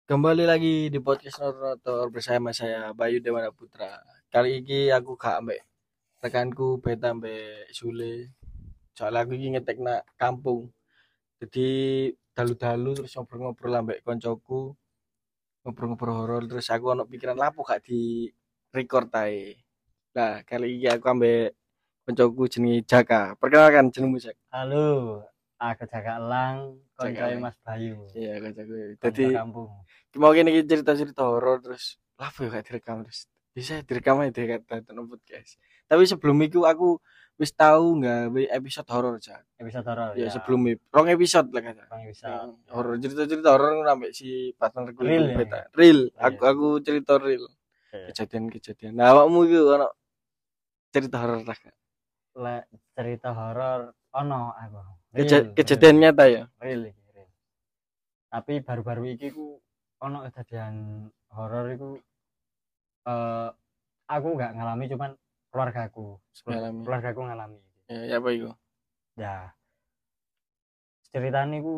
Kembali lagi di podcast Narator bersama saya Bayu Dewana Putra. Kali ini aku gak ambek rekanku Beta ambek Sule. Soalnya aku iki ngetek nak kampung. Jadi dalu-dalu terus ngobrol-ngobrol ambek koncoku, ngobrol-ngobrol horor terus aku ono pikiran lapo gak di record ae. Nah, kali ini aku ambek koncoku jenenge Jaka. Perkenalkan jenengmu, Jak. Halo, aku Jaka Elang, Jaka koncoe Lang. Mas Bayu, Iya, koncoku. konco Jadi kampung. mau gini cerita-cerita horor terus lapo ya gak direkam terus bisa direkam aja deh kata podcast. Tapi sebelum itu aku wis tahu nggak episode horor aja. Episode horor Ya ya, sebelum itu rong episode lah kata. Bang episode ya. Horor cerita-cerita horor sampai si partnerku itu Real ya. beta. Real. Real. Aku cerita real. Oke. Kejadian-kejadian. Nah, awakmu itu ono cerita horor lah. Kak? Cerita horor ono aku. Kejadian nyata ya. Real. Tapi baru-baru iki ku ono kejadian horor iku aku nggak ngalami cuman keluargaku ngalami. Ya apa itu? Ya, ceritanya ku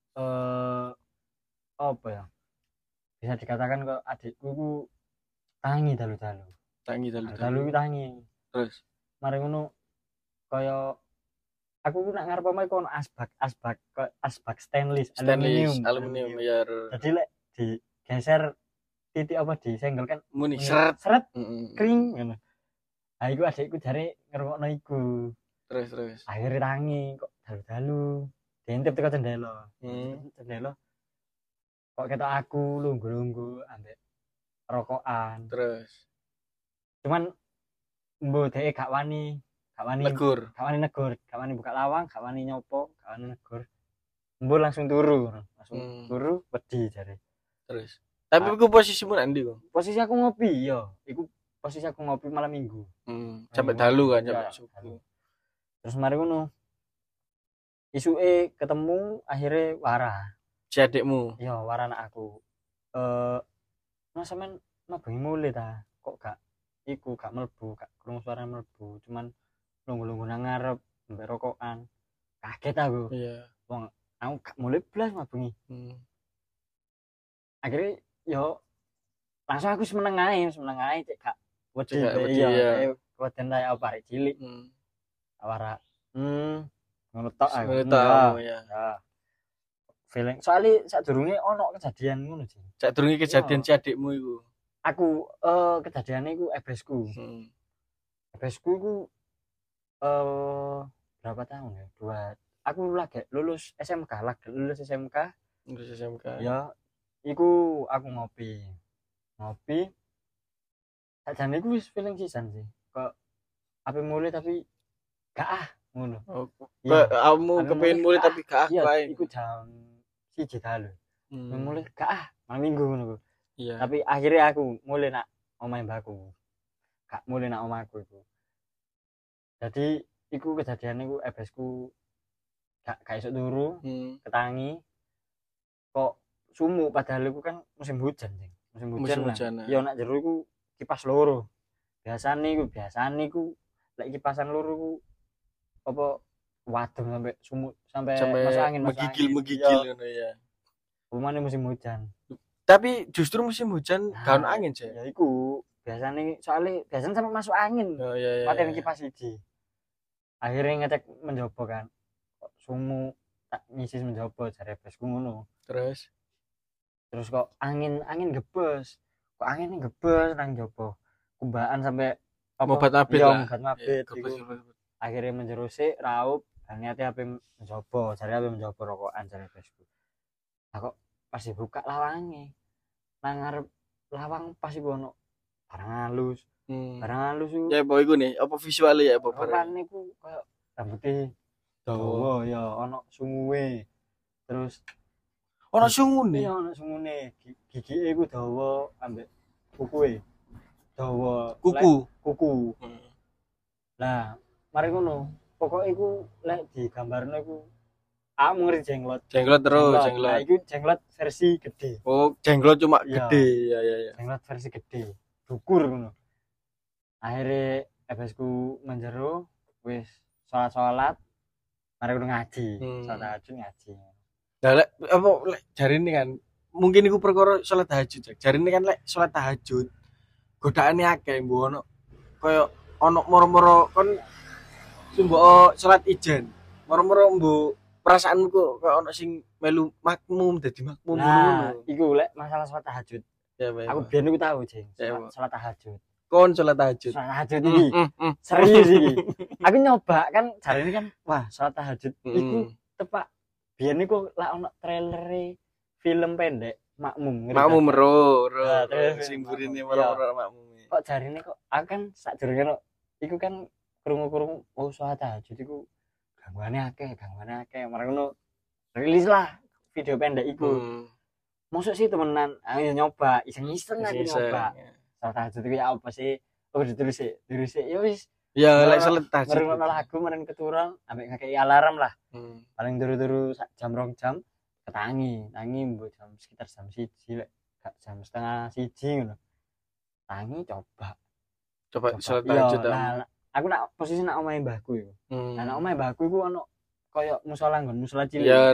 apa ya? Bisa dikatakan kok adikku ku tangi dalu-dalu. Dalu tangi. Terus Mari ngono kaya aku ku nak ngarep omahe kono asbak stainless aluminium ya. Jadi lek digeser titik apa disenggol kan Muni seret kering ngono. Ah iku adikku jare ngrungokno iku. Terus Akhirnya tangi kok dalu-dalu diintip teko jendela. Jendela kok ketok aku lungguh-lungguh ambek rokokan. Terus Cuman mbok dhek gak wani negur, gak wani buka lawang, gak wani nyopo, gak wani negur. Mbok langsung turu wedi jare. Terus tapi iku posisimu nang ndi kok? Posisi aku ngopi ya, iku posisi aku ngopi malam minggu. Sampai dalu kan sampai subuh. Terus mari ngono. Isuke ketemu akhirnya warah. Si adikmu. Iya, warah anak aku. Mas sampean bengi mulih ta? Kok gak mlebu, gak krungu suara mlebu, cuman lungguh-lungguh nang ngarep mbek rokokan. Kaget aku. Iya. Wong aku gak mulih blas bengi. Akhirnya yo langsung aku semeneng ae cek gak wedi iya weden ta apa arek cilik. Awara ngono tok aku. Ya. Feeling soalnya sadurunge ono kejadian ngono sih. Sadurunge kejadian si adikmu iku. Aku kejadiannya iku ebesku. Ebesku iku berapa tahun ya? Aku lagi lulus SMK. Ya, iku aku ngopi. Sajane iku wis feeling sisan sih. Kok ape mulai tapi gak ngono. Kamu kepengin mulai tapi gak ae. Iku jam 1 dalu. Mulai gak malam minggu ngono. Iya. Tapi akhirnya aku mulai nak omahe mbakku. Gak mulai nak omahku iku. Jadi iku kejadian iku ebesku gak iso turu, ketangi. Kok sumuk padahal iku kan musim hujan, Jeng. Musim hujan. Ya nak jero iku kipas loro. Biasane iku lek kipasan loro iku apa wadem sampai sumuk sampai masuk angin menggigil ngono ya. Rumane musim hujan. Tapi justru musim hujan gak ono angin sih. Ya iku biasanya sampai masuk angin. Paten kipas siji. Akhirnya ngecek menjobo kan. Kok sumuk tak nyisis menjobo jare besku ngono. Terus kok angin gebes. Kok angin gebes nang jobo. Kumbaan sampai mobat mabit lah. Akhirnya menjerusik raup dan niate ape menjobo, jare ape menjobo rokokan jare besku. Lah kok pas dibuka lawange. Nang ngarep lawang pas iku ono barang halus. Barang halus iku. Ya apa iku nih? Apa visuale ya apa barang niku koyo rambute dawa ya, ono sunguwe. Terus ono sungune. Iya, ono sungune. Gigike iku dawa ambek kukuwe. Dawa kuku. Lah, mari ngono. Pokoke iku lek digambarno iku ngeri jenglot terus. Nah, iku jenglot versi gede. Oh, jenglot cuma gede. Ya. Jenglot versi gede. Dukur ngono. Akhirnya ebesku menjero wis salat mari ngono ngaji. Salat ngaji. Lah lek apa jarine kan mungkin iku perkara salat tahajud. Jarine kan lek salat tahajud godaane akeh mbok ono kaya ono moro-moro kon mbok salat ijen. Moro-moro mbok perasaanmu kok kaya ono sing melu makmum dadi makmum ngono. Iku lek masalah salat tahajud. Ya, aku biyen niku tahu, Jeng. Salat tahajud. Kon salat tahajud. Salat tahajud iki. Serius iki. Aku nyoba kan jarine kan wah, salat tahajud iku tepak biyen niku lak ono trailere film pendek Makmum. Makmum ro sing burine moro-moro makmum. Kok jarine kok aku kan sadurunge iku kan krungu-krungu oh salat tahajud iku gangguane akeh. Marang ngono rilis lah video pendek iku. Mosok sih temenan, ayo nyoba, iseng-iseng aku nyoba. Salat tahajud iku ya apa sih? Oh ditulis ya wis. Ya lek salat tahajud. Mereng lagu mereng keturun ambek ngakei alarm lah. Paling turu-turu sak jam 2 jam ketangi mbok jam sekitar jam 1 lek gak jam setengah 1 ngono. Tangi coba salat tahajud. Nah, aku nak posisi nak omahe mbahku iku. Nah, nak omahe mbahku iku ono koyo musala musala cilik. Ya.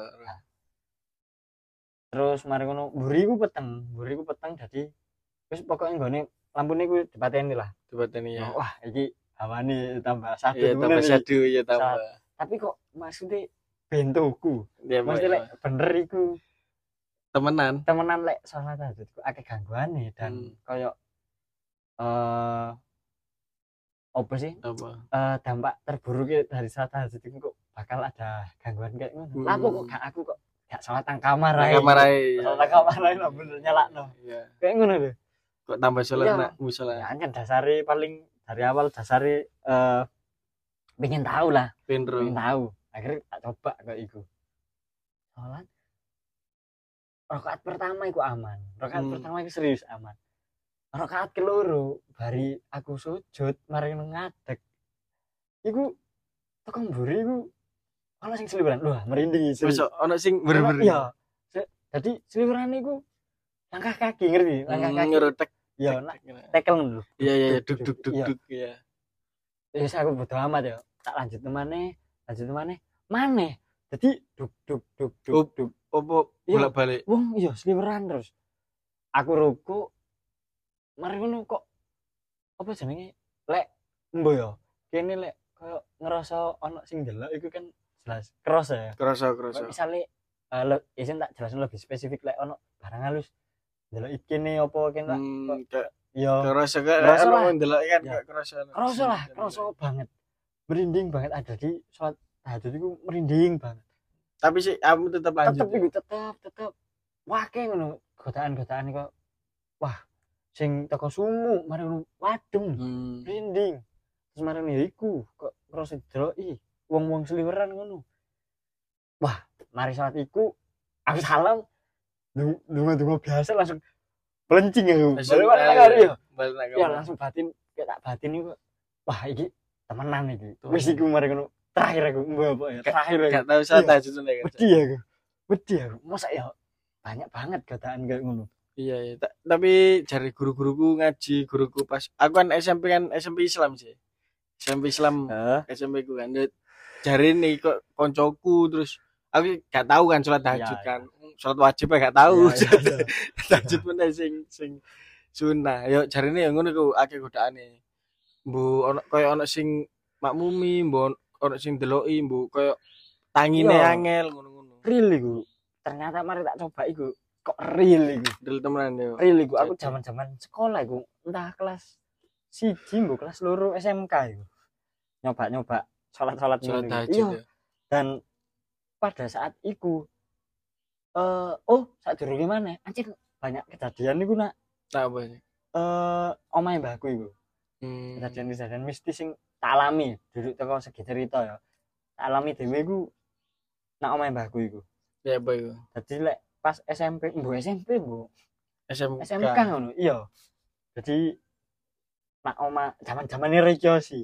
Terus mari ngono mburiku peteng dadi wis pokoke nggone lampune ku dipateni lah. Ya. Wah, iki hawane tambah satu. Ya tambah satu ya tambah. Tapi kok maksudnya bentuku. Ya, mesti lek bener iku temenan lek salat tahajud ku akeh gangguane dan koyo apa sih? Dampak terburuknya dari salat tahajud itu kok bakal ada gangguan kayak ngono. Lah kok aku kok gak salat nang kamar ae. Salat kamar ae lah bener nyalakno. Iya. Kayak ngono lho. Kok tambah salat nak musala. Ya kan dasare paling dari awal dasare pengen tahu lah. Pengen tahu. Akhirnya tak coba kayak iku. Salat rakaat pertama iku aman. Rakaat pertama iku serius aman. Rakaat keloro bari aku sujud mari ngadeg. Iku tekan mburi iku ana sing seliweran. Wah, merinding iki. Mosok ana sing bener-bener. Iya. Dadi seliweran iku langkah kaki ngerti? Langkah kaki. Ngerotek. Iya, tekel ngono lho. Iya, duk ya. Wis aku bodo amat ya. Tak lanjut maneh. Maneh. Dadi duk. Opo bolak-balik. Wong iya sliweran terus. Aku ruku mari ngono kok apa jenenge? Lek mbo ya. Kene lek koyo ngerasa ana sing ndelok iku kan jelas kroso ya. Kroso. Misale isin tak jelasin lebih spesifik lek ana barang halus ndelok ikene apa kene ya kroso kan ndelok kan kroso. Kroso banget. Merinding banget ada di salat tahajud iku merinding banget. Tapi sih kamu tetap lanjut. Tetep. Wah, kayak ngono godaan-godaan kok. Wah, sing teko sumu mari ngono wadeng. Merinding. Terus mari ya iku kok ngrasa deloki wong-wong seliweran ngono. Wah, mari salat iku aku salam dungo biasa langsung pelencing aku. Balik ya langsung batin kayak tak batin iku. Wah, iki temenan iki. Wis iku mari ngono. Terakhir aku mbok ya. Terakhir aku. Gak tahu salat tahajud nek. Wedi aku. Masa ya banyak banget godaan kayak ngono. Iya. Tapi jari guru-guruku ngaji, guruku pas aku kan SMP Islam sih. SMP Islam, SMP ku kan. Jari nih kok koncoku terus aku gak tahu kan salat tahajud kan. Salat wajib gak tahu. Tahajud pun sing sunah. Yo jarine ya ngono ku akeh godaane. Mbu ono koyo ono sing makmumi, mbu ono sing deloki, mbu koyo tangine angel ngono-ngono. Real iku. Ternyata mari tak coba iku kok real iku. Real temenan yo. Real iku aku zaman-zaman sekolah iku entah kelas 1 mbok kelas 2 SMK iku. Nyoba salat tahajud. Dan pada saat iku sadurunge maneh anjir banyak kejadian niku nak. Apa sih? Omahe mbahku iku. Kejadian mistis sing tak alami duduk teko segi cerita ya. Tak alami dhewe iku nak omahe mbahku iku. Ya apa iku? Dadi lek pas SMP SMK ngono. Iya. Jadi nak oma zaman-zamane Rejosi.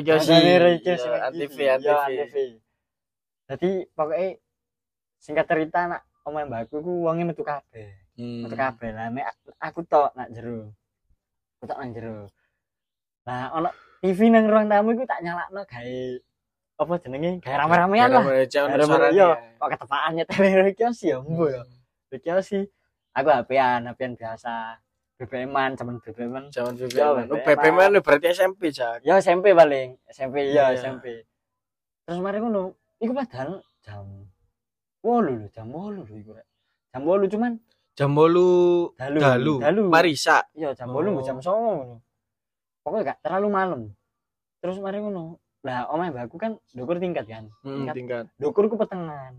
TV. Jadi pokoknya singkat cerita nak omahe mbahku iku wonge metu kabeh. Metu kabeh lah nek aku tok nak jero. Aku tok nang jero. Nah, ono TV nang ruang tamu iku tak nyalakno gawe apa jenenge? Gawe rame-ramean lah. Iya, kok ketepaan nyetel iki ya mbo ya. Iki sih aku HP-an biasa. BBM-an, zaman BBM-an. Zaman BBM. BBM berarti SMP, Jak. Ya SMP paling, SMP ya Iya. SMP. Terus mari ngono, iku padahal jam 8 lho, jam 8 lho iku rek. Jam 8 cuman jam 8 dalu. Marisa. Iya, jam 8 jam 9 ngono. Pokoknya gak terlalu malam. Terus mari ngono. Lah omahe mbakku kan ndukur tingkat kan. Tingkat. Ndukurku petengan.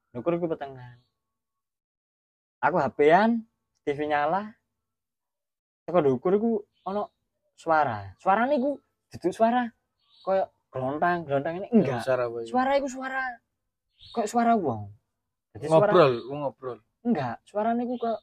Aku HP-an, TV nyala. Teko ndukur iku ono suara. Suarane iku duduk suara koyo gelontang ini enggak. Suara iku suara koyo suara wong. Jadi ngobrol. Enggak, suarane iku koyo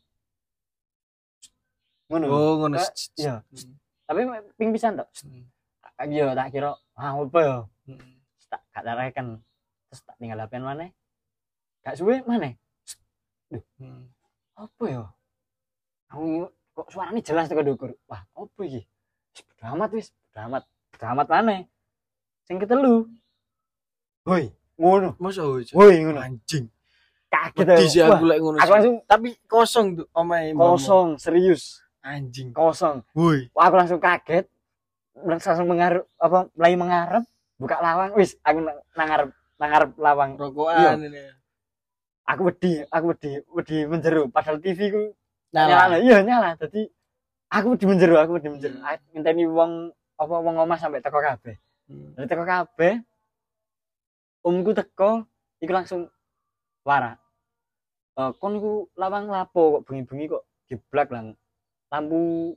ngono. Oh, ngono. Iya. Tapi ping pisan tok. Iya, tak kira apa ya? Tak gak tareken. Terus tak tinggal HP-an maneh. Gak suwe maneh. Duh. Apa ya? Aku kok suaranya jelas tekan ndukur. Wah, apa iki? Wis bodo amat maneh. Sing ketelu. Hoi, ngono. Masa hoi ngono. Anjing. Kaget aku lek ngono. Aku langsung tapi kosong tuh omahe. Kosong, serius. Anjing. Kosong. Woi. Aku langsung kaget. Langsung mulai mengarep, buka lawang. Wis, aku nangarep lawang. Rokokan ini. Aku wedi menjeru padahal TV ku nyala. Iya nyala. Jadi aku wedi menjeru. Ngenteni wong omah sampai teko kabeh. Dari teko kabeh omku teko iku langsung warak. Kon iku lawang lapo kok bengi-bengi kok diblak lang. Lampu.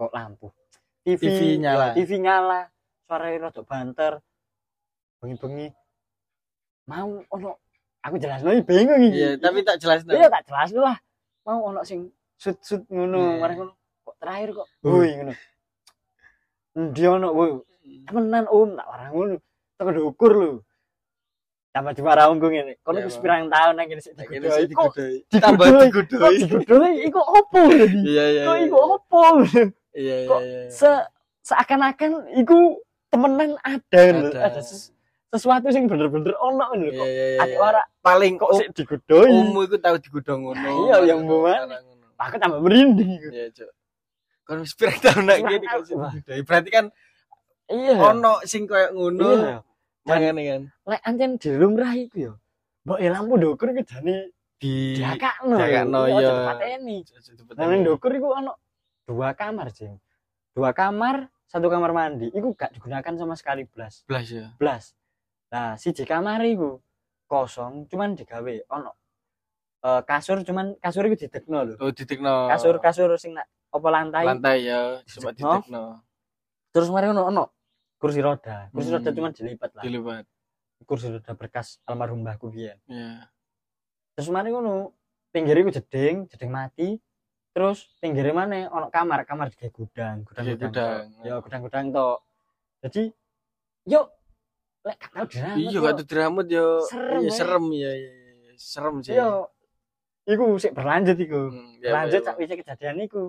TV nyala. Suarane rada banter. Bengi-bengi mau ono aku jelasno bingung iki. Iya, tapi tak jelasno. Iya, tak jelasno lah. Mau ono sing sut ngono, mari ngono. Kok terakhir kok. Woi ngono. Endi ono, woi. Temenan Om, tak warang ngono. Teko ndukur lho. Tambah dimarah nggo ngene. Kono wis pirang taun nang kene sik digodhoi. Tambah digodhoi. Iku opo jadi? Iya. Kok iku opo? Iya. Seakan-akan iku temenan ada sesuatu sing bener-bener ono ngono kok. Ati ora paling kok sik digodhoi. Ummu iku tau digodhong ngono. Iya, yang mbuan. Aku tambah merinding iku. Iya, Cuk. Kon wis pirang taun nek kene kok digodhoi. Berarti kan iya. Ono sing koyo ngono. Iya. Mangane kan. Lek ancen dilumrah iku ya. Mbok lampu ndukur iku jane diakakno. Iya. Pateni. Nang ndukur iku ono 2 kamar, Jeng. 2 kamar, 1 kamar mandi. Iku gak digunakan sama sekali blas. Blas. Nah, siji kamar iku kosong, cuman digawe ono kasur, cuman kasur iku didekno lho. Oh, didekno. Kasur sing apa lantai. Lantai ya, cuma didekno. Terus mari ono kursi roda. Kursi roda cuman dilipat lah. Dilipat. Kursi roda bekas almarhum mbahku biyen. Iya. Terus mari ngono, pinggir iku jeding mati. Terus pinggire maneh ono kamar digawe gudang. Ya gudang-gudang tok. Jadi yo lek gak tau diramut. Iya gak tau diramut yo. Serem ya. Serem sih. Yo. Iku sik berlanjut iku. Lanjut sak wis kejadian iku.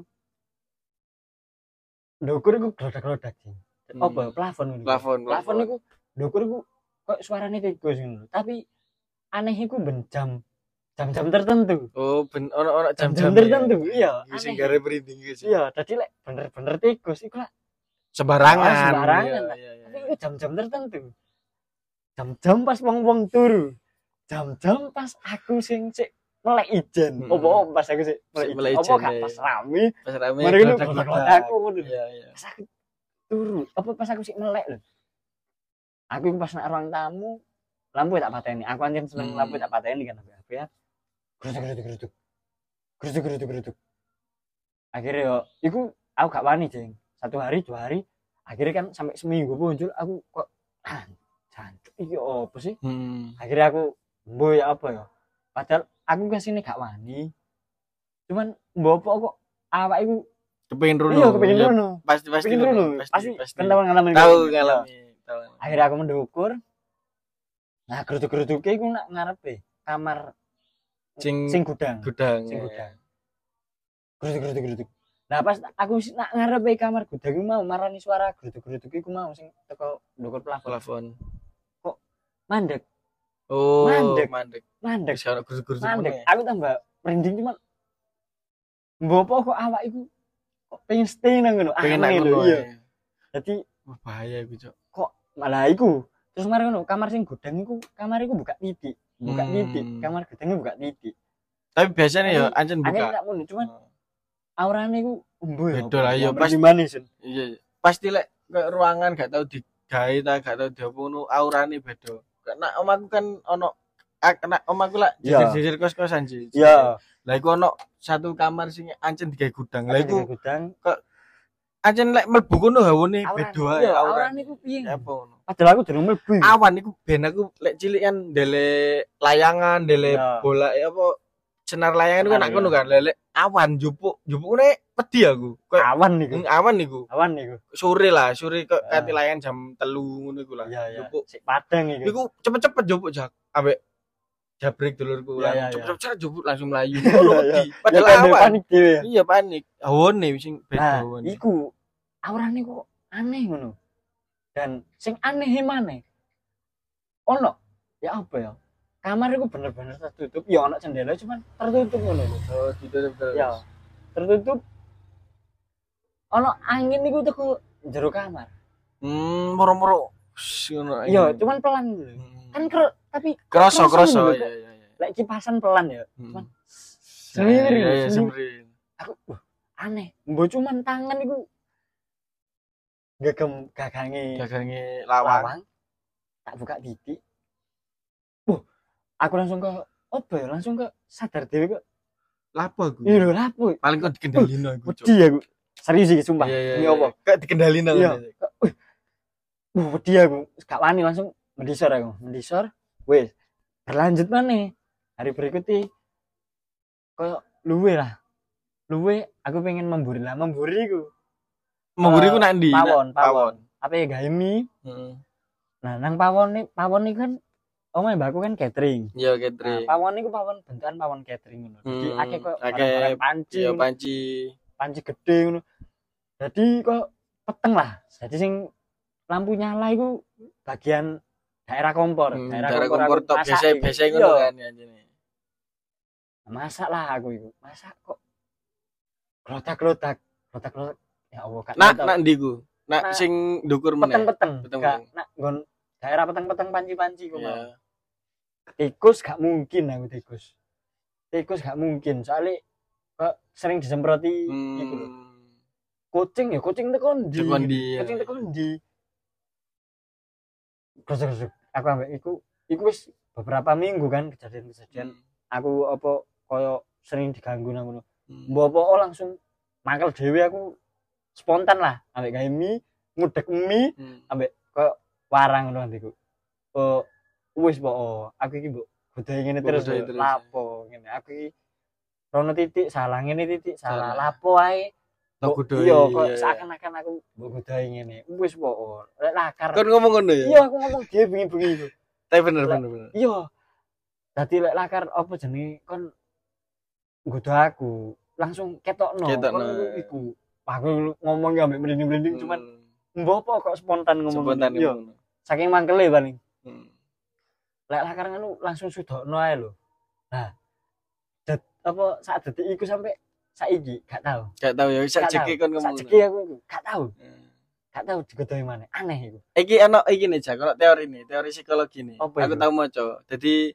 Ndukur iku glodak-glodak sih. Apa plafon ngono. Plafon iku ndukur iku kok suarane tikus ngono. Tapi aneh iku jam-jam tertentu. Oh, ono jam-jam tertentu. Iya, sing gare merinding iki. Iya, dadi lek bener-bener tikus iku lek sembarangan. Tapi iku jam-jam tertentu. Jam-jam pas wong-wong turu. Jam-jam pas aku sing sik melek ijen. Opo pas aku sik melek ijen. Opo gak pas rame. Mari aku ngono. Iya. Pas aku turu, apa pas aku sik melek lho. Aku pas nak ruang tamu, lampu tak pateni. Aku anjen seneng lampu tak pateni kan HP ya. Geruduk. Akhirnya yo, iku aku gak wani, Jeng. 1 hari, 2 hari, akhirnya kan sampai seminggu muncul aku kok jancuk iki opo sih? Akhirnya aku mboy apa ya? Padahal aku kesini gak wani. Cuman mbopo kok awak iku kepengin rono. Iya, kepengin rono. Pasti rono. Pasti ngalamin. Tahu ngalami. Akhirnya aku mendukur. Nah, geruduk-geruduke iku nak ngarepe kamar sing gudang. Sing gudang. Geruduk. Nah, pas aku nak ngarepe kamar gudang iku mau marani suara geruduk-geruduk iku mau sing teko ndukur plafon. Kok mandek. Oh, mandek. Mandek. Wis ono geruduk-geruduk. Mandek. Aku tambah merinding cuman Mbopo kok awak iku kok pengen stay nang ngono. Pengen nang ngono. Iya. Dadi bahaya iku, Cok. Kok malah iku. Terus mari ngono, kamar sing gudang iku, kamar iku buka titik. Kamar gudangnya buka titik. Tapi biasanya ya ancen buka. Ancen gak ngono, cuman aurane iku umbo ya. Beda lah ya pasti manis. Iya. Pasti lek ruangan gak tau digawe ta gak tau diopo ngono aurane beda. Karena omaku kan ono kena omaku lah jujur kos-kosan sih. Iya. Lah iku ono satu kamar sing ancen digawe gudang. Lah iku gudang kok ancen lek mlebu kono hawane beda ae aurane iku piye? Apa ngono. Padahal aku durung mlebu. Awan iku ben aku lek cilik kan ndele layangan, ndele bola apa senar layangan itu kan nak ngono kan. Lek awan jupuk ngene wedi aku. Awan niku. Awan niku. Sore kok kate layangan jam 3 ngono iku lah. Jupuk sik padang iku. Iku cepet-cepet jupuk jak ambek jabrik dulurku lah. Cepet-cepet jupuk langsung mlayu. Padahal awan. Panik dhewe. Iya panik. Hawane sing beda hawane. Iku aurane kok aneh ngono. Dan sing aneh maneh ono ya apa ya kamar iku bener-bener tertutup ya ono jendela cuman tertutup ngono lho. Oh ditutup terus ya tertutup ono angin iku teko jero kamar moro-moro ngono iya cuman pelan gitu kan tapi kroso ya lek kipasan pelan ya cuman semiri aku aneh mbok cuman tangan iku gagange lawang tak buka titik aku langsung ke apa ya langsung ke sadar dewe kok lapo aku iya lho lapo paling kok dikendalino aku wedi aku serius iki sumpah ini apa kok dikendalino wedi aku gak wani langsung mendisor wis berlanjut maneh hari berikutnya koyo luwe aku pengen memburi ku nak ndi pawon apa ya gawe mie nah nang pawon iki kan omahe mbakku kan catering iya catering pawon niku bentukan pawon catering ngono dadi akeh kok panci gede ngono dadi kok peteng lah dadi sing lampu nyala iku bagian daerah kompor tok biasa ngono kan anjene masak lah aku iku masak kok klotak ya Allah kak nak ndi ku nak sing ndukur meneh peteng nak nggon daerah peteng panci-panci ku mau tikus gak mungkin aku tikus gak mungkin soalnya kok sering disemproti gitu loh kucing teko ndi gosok aku ambek iku wis beberapa minggu kan kejadian aku apa koyo sering diganggu nang ngono mbok langsung mangkel dhewe aku spontan lah ambek gawe mie ngudek mie ambek koyo warang ngono ndiku wis aku iki mbok godhe ngene terus lapo ngene aku iki rono titik salah ngene titik salah lapo ae iya kok seakan-akan aku mbok godhe ngene wis lek lakar kon ngomong ngono ya iya aku ngomong dhewe bengi-bengi iku tapi bener iya dadi lek lakar apa jenenge kon nggodho aku langsung ketokno iku aku ngomong ambek merinding-merinding cuman mbok kok spontan ngomong iya saking mangkele paling lek lakar ngono langsung sudokno ae lho nah apa saat detik iku sampai saiki gak tahu ya sajeki kon ngomong sajeki aku gak tahu digodhoi maneh aneh iku iki ana iki nih Jak kalau teori psikologi nih aku tahu maca dadi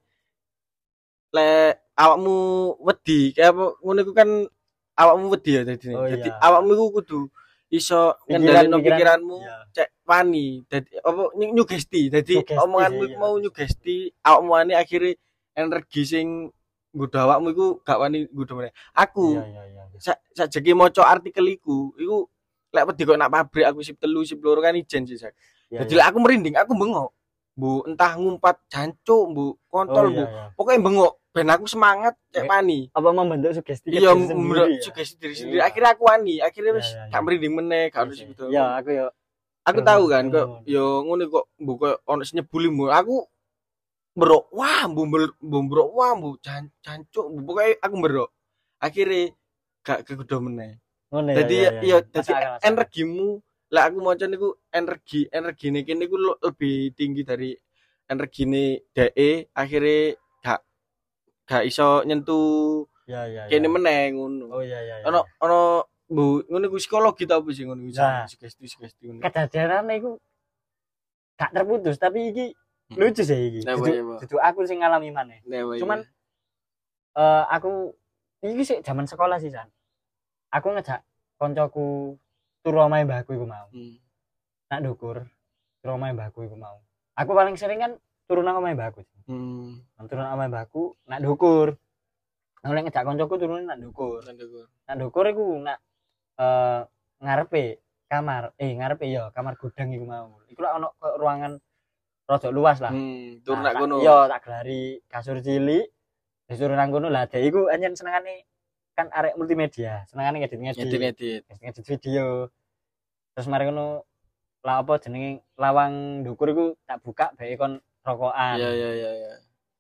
lek awakmu wedi kayak apa ngono iku kan awakmu wedi ya dadi awakmu iku kudu iso ngendhalino pikiranmu cek wani dadi apa nyugesti dadi omonganmu iku mau nyugesti awakmu ane akhire energi sing nggodho awakmu iku gak wani nggodho meneh aku sajeki maca artikel iku lek wedi kok nak pabrik aku sip 3 sip 2 kan ijen sih Sak dadi lek aku merinding aku bengok bu entah ngumpat jancuk bu kontol bu pokoknya bengok ben aku semangat cek wani apa membentuk sugesti iya sugesti diri sendiri akhirnya aku wani akhirnya wis gak merinding meneh gak harus gitu ya aku tahu kan kok yo ngono kok mbok koyo ono sing nyebuli aku berok wah bu jancuk pokoke aku berok akhirnya gak kegodho meneh dadi ya dadi energimu lah aku maca niku energine kene iku lebih tinggi dari energine dhek akhirnya gak iso nyentuh Ya. Kene meneh ngono. Oh iya. Ono Bu, ngono iku psikologi ta opo sih ngono iku? Sugesti ngono. Kadadarane iku gak terputus tapi iki lucu sih iki. Dudu aku sing ngalami maneh. Cuman aku iki sih zaman sekolah sih San. Aku ngejak koncoku turu omahe mbahku iku mau. Nak ndukur turu omahe mbahku iku mau. Aku paling sering kan turu nang omahe mbahku. Turu nang omahe mbahku nak ndukur. Nek ngejak koncoku turune nak ndukur. Nak ndukur iku nak ngarepe kamar kamar gudang iku mau. Iku lak ono ruangan rada luas lah. Tur nak kono. Iya, tak gelari kasur cilik. Disuruh nang kono lah. Dek iku anjen senengane kan arek multimedia, senengane ngedit video. Terus mari ngono lah apa jenenge lawang ndukur iku tak buka bae kon rokokan. Iya.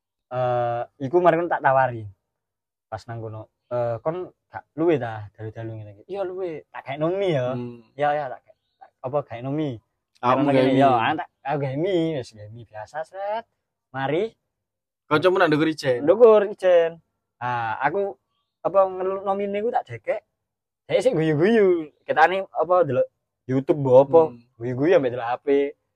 Iku mari ngono tak tawari. Pas nang kono kon gak luwe ta dalu-dalu ngene iki. Iya luwe, tak gawe nomi ya. Ya tak apa gawe nomi. Ya, tak gawe mie, wis gawe mie biasa set. Mari kancamu nak ndukur ijen. Ah, aku apa nomi niku tak dekek. Dek sik guyu-guyu. Ketane apa delok YouTube mbok apa, guyu-guyu ambek delok HP.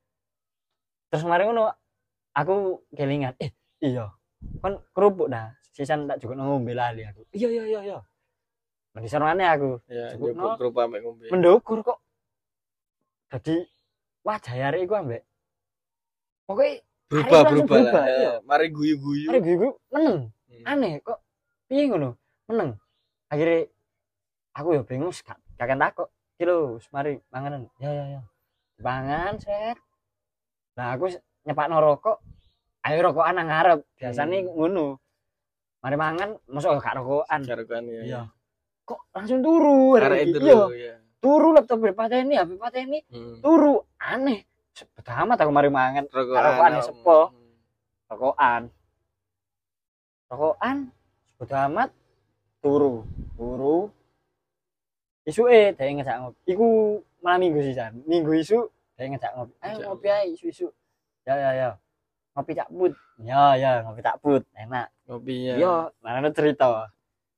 Terus mari ngono aku kelingan, iya. Kon kerupuk dah. Sisan tak cukup ngombe lali aku. Iya. Mendhi sarane aku. Iya, kerupuk ambek ngombe. Mendukur kok. Dadi wajah arek iku ambek pokoke berubah lah. Iya. Mari guyu-guyu. Meneng. Aneh kok. Piye ngono? Meneng. Akhirnya aku ya bingung kakek takok. Iki lho, mari manganan. Ya. Pangan set. Nah, aku nyepakno rokok. Ayo rokokan nang ngarep. Biasane ngono. Mari mangan, mosok gak rokokan. Iya. Kok langsung turu arek iki. Iya. Turu laptop pateni, HP pateni. Turu aneh. Pertama aku mari mangan rokokan sepo. Rokokan bodo amat turu isuke dhek ngejak ngopi iku malam minggu sih San minggu isu dhek ngejak ngopi ayo ngopi ae isu ya ngopi cak put ya ngopi tak put enak ngopi ya yo mana cerita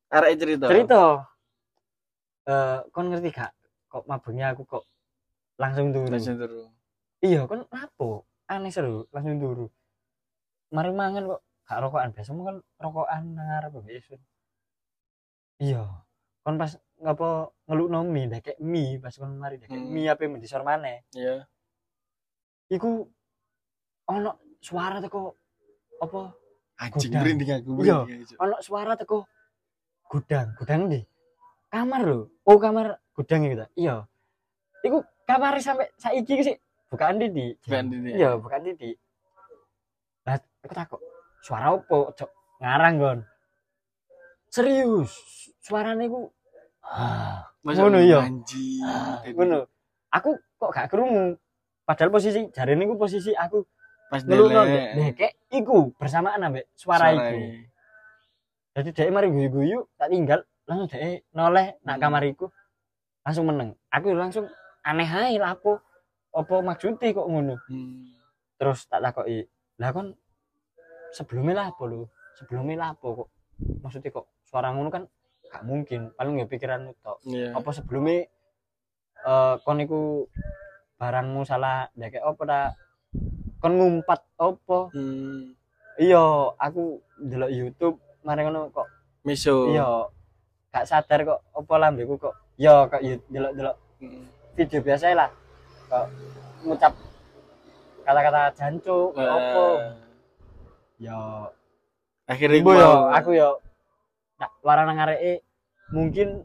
kon ngerti gak kok mabuknya aku kok langsung turu iya kon lapo aneh seru langsung turu mari mangan kok gak rokokan biasa kan rokokan ngarep besok iya kon pas ngapa ngelukno mie ndek mie pas kon mari ndek mie ape mendisor maneh iya iku ono suara teko apa anjing merinding aku iya ono suara teko gudang ndi kamar lho kamar gudang iki ta iya iku kamar sampai saiki sih bukan di iya bukan di lah aku takut suara opo cok ngarang gon serius suarane ku ngono iya ngono aku kok gak krungu padahal posisi jarene ku posisi aku pas ndek iku bersamaan ambek suara iku jadi dhek mari guyu-guyu tak tinggal langsung dhek noleh nak kamar iku langsung meneng aku langsung aneh ae lapo apa maksudnya kok ngono terus tak takoki lah kon sebelumnya lapo kok maksudnya kok suara ngono kan gak mungkin paling ya pikiranmu tok apa sebelumnya kon iku barangmu salah ndek apa ta kon ngumpat apa iya aku ndelok YouTube mari ngono kok miso iya gak sadar kok apa lambeku kok ya kok ndelok video biasa lah kok ngucap kata-kata jancuk apa ya akhirnya aku yo nak warana ngareke mungkin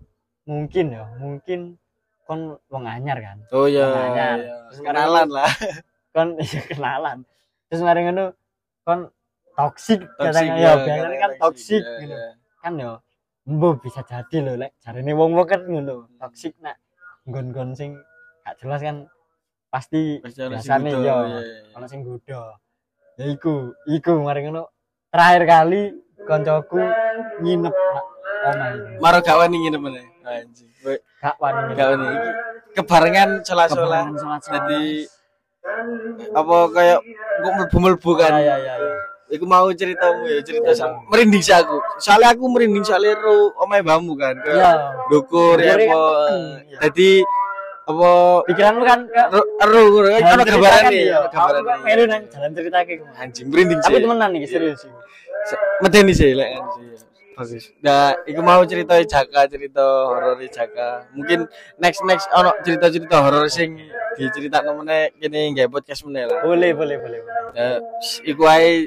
kon wong anyar kan oh iya kenalan lah kon kenalan terus mari ngono kon toksik katanya ya biasanya kan toksik gitu kan yo mbok bisa jadi lho lek jarene wong-wong kan ngono toksik nak nggon-nggon sing gak jelas kan pasti biasane yo ono sing godho ya iku mari ngono terakhir kali koncoku nginep omahe maro gak wani nginep meneh anjing gak wani iki kebarengan salah-salah dadi apa kayak kok mlebu-mlebu kan iya iku mau ceritamu ya, cerita merinding sih aku. Soalnya aku merinding soalnya omahe mbahmu kan. Iya. Dukur ya apa. Dadi apa pikiranmu kan ero ono gambarane ya. Gambarane. Melu nang jalan ceritake anjing merinding sih. Tapi temenan iki serius iki. Medeni sih lek bagus. Nah, iku mau cerita Jaka, cerita horor Jaka. Mungkin next ono cerita-cerita horor sing diceritakno meneh kene nggae podcast meneh lah. Boleh. Iku ae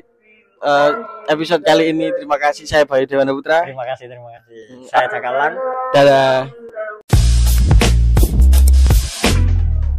episode kali ini. Terima kasih, saya Bayu Dewana Putra. Terima kasih. Saya Jaka Lang. Dadah.